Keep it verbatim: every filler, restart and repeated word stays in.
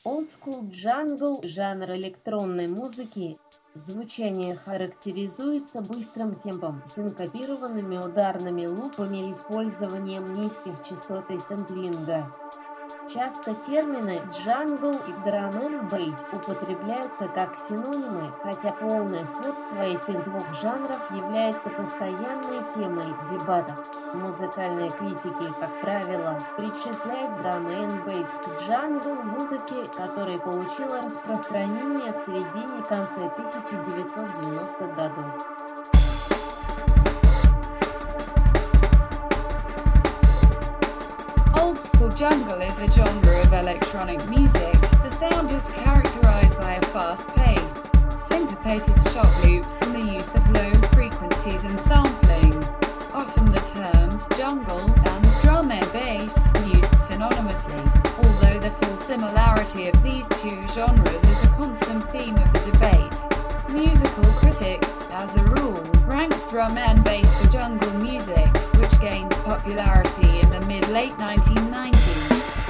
Old School Jungle – жанр электронной музыки. Звучание характеризуется быстрым темпом, синкопированными ударными лупами и использованием низких частот и сэмплинга. Часто термины «джангл» и «драм энд бейс» употребляются как синонимы, хотя полное сходство этих двух жанров является постоянной темой дебатов. Музыкальные критики, как правило, причисляют драм энд бейс к джангл музыке, которая получила распространение в середине и конце тысяча девятьсот девяностых годов. Old School Jungle is a genre of electronic music. The sound is characterized by a fast-paced, syncopated shot loops and the use of low frequencies and sampling. Often the terms jungle and drum and bass are used synonymously, although the full similarity of these two genres is a constant theme of the debate. Musical critics, as a rule, rank drum and bass for jungle music, which gained popularity in the mid-late nineteen nineties.